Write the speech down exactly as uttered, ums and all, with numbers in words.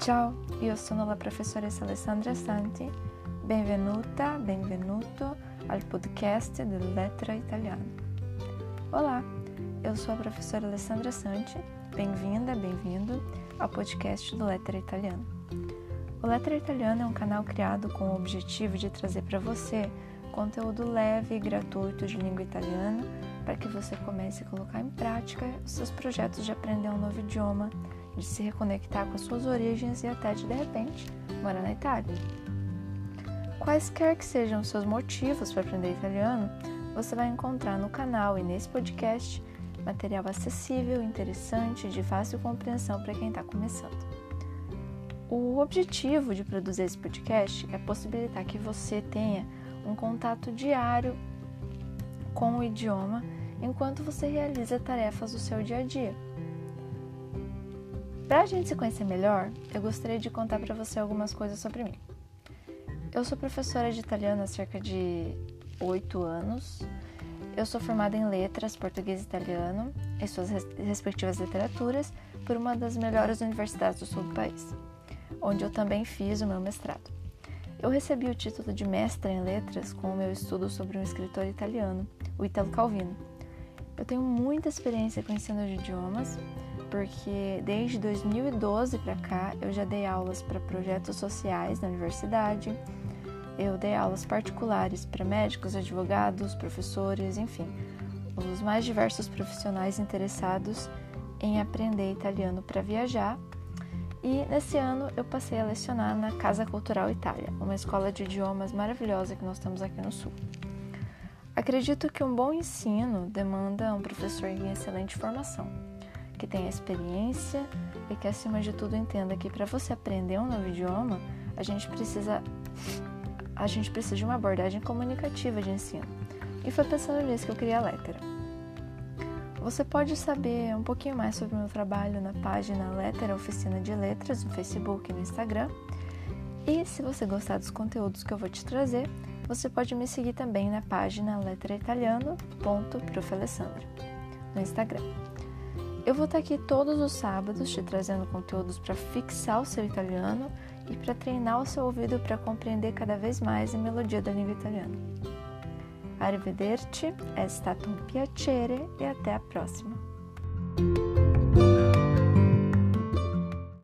Ciao, io sono la professoressa Alessandra Santi, benvenuta, benvenuto al podcast do Letra Italiano. Olá, eu sou a professora Alessandra Santi, bem-vinda, bem-vindo ao podcast do Letra Italiano. O Letra Italiano é um canal criado com o objetivo de trazer para você conteúdo leve e gratuito de língua italiana para que você comece a colocar em prática os seus projetos de aprender um novo idioma, de se reconectar com as suas origens e até de, de repente, morar na Itália. Quaisquer que sejam os seus motivos para aprender italiano, você vai encontrar no canal e nesse podcast material acessível, interessante e de fácil compreensão para quem está começando. O objetivo de produzir esse podcast é possibilitar que você tenha um contato diário com o idioma enquanto você realiza tarefas do seu dia a dia. Para a gente se conhecer melhor, eu gostaria de contar para você algumas coisas sobre mim. Eu sou professora de italiano há cerca de oito anos. Eu sou formada em letras, português e italiano, e suas respectivas literaturas, por uma das melhores universidades do sul do país, onde eu também fiz o meu mestrado. Eu recebi o título de mestra em letras com o meu estudo sobre um escritor italiano, o Italo Calvino. Eu tenho muita experiência com ensino de idiomas, porque desde dois mil e doze para cá eu já dei aulas para projetos sociais na universidade, eu dei aulas particulares para médicos, advogados, professores, enfim, os mais diversos profissionais interessados em aprender italiano para viajar. E nesse ano eu passei a lecionar na Casa Cultural Itália, uma escola de idiomas maravilhosa que nós temos aqui no Sul. Acredito que um bom ensino demanda um professor em excelente formação, que tenha experiência e que, acima de tudo, entenda que para você aprender um novo idioma, a gente precisa, a gente precisa de uma abordagem comunicativa de ensino. E foi pensando nisso que eu criei a Lettera. Você pode saber um pouquinho mais sobre o meu trabalho na página Lettera Oficina de Letras, no Facebook e no Instagram. E se você gostar dos conteúdos que eu vou te trazer, você pode me seguir também na página letra italiano ponto prof alessandra no Instagram. Eu vou estar aqui todos os sábados te trazendo conteúdos para fixar o seu italiano e para treinar o seu ouvido para compreender cada vez mais a melodia da língua italiana. Arrivederci, è stato un piacere e até a próxima!